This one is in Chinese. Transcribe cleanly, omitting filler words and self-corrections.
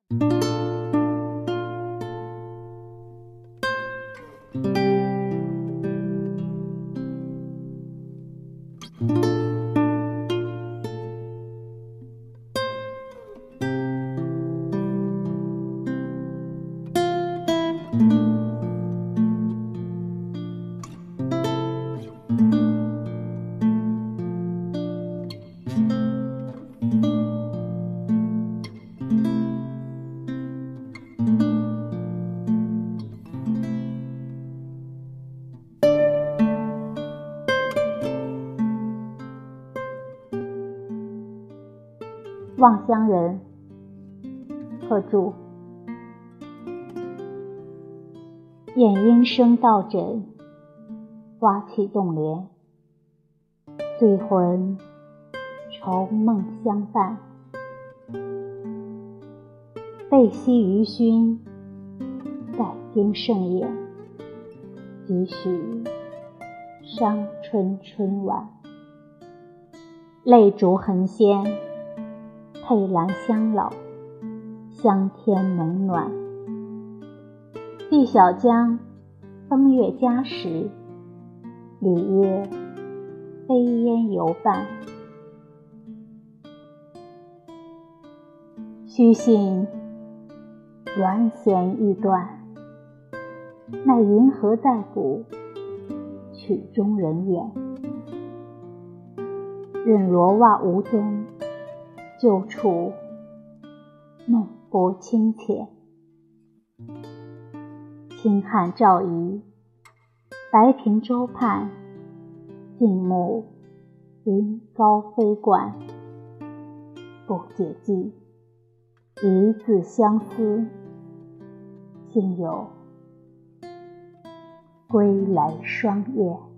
望乡人，贺铸。雁音声到枕，花气动帘，醉魂愁梦相伴。背夕余熏，待今盛宴，几许伤春春晚。泪烛横仙，佩兰香老，香天冷暖。碧小江，风月佳时，里约飞烟犹伴。须信缘弦欲断，奈云何在古，曲中人远。任罗袜无踪，旧处梦波清浅。清汉赵仪，白平洲畔，静沐云高飞冠。不解寄，一字相思，竟有归来双燕。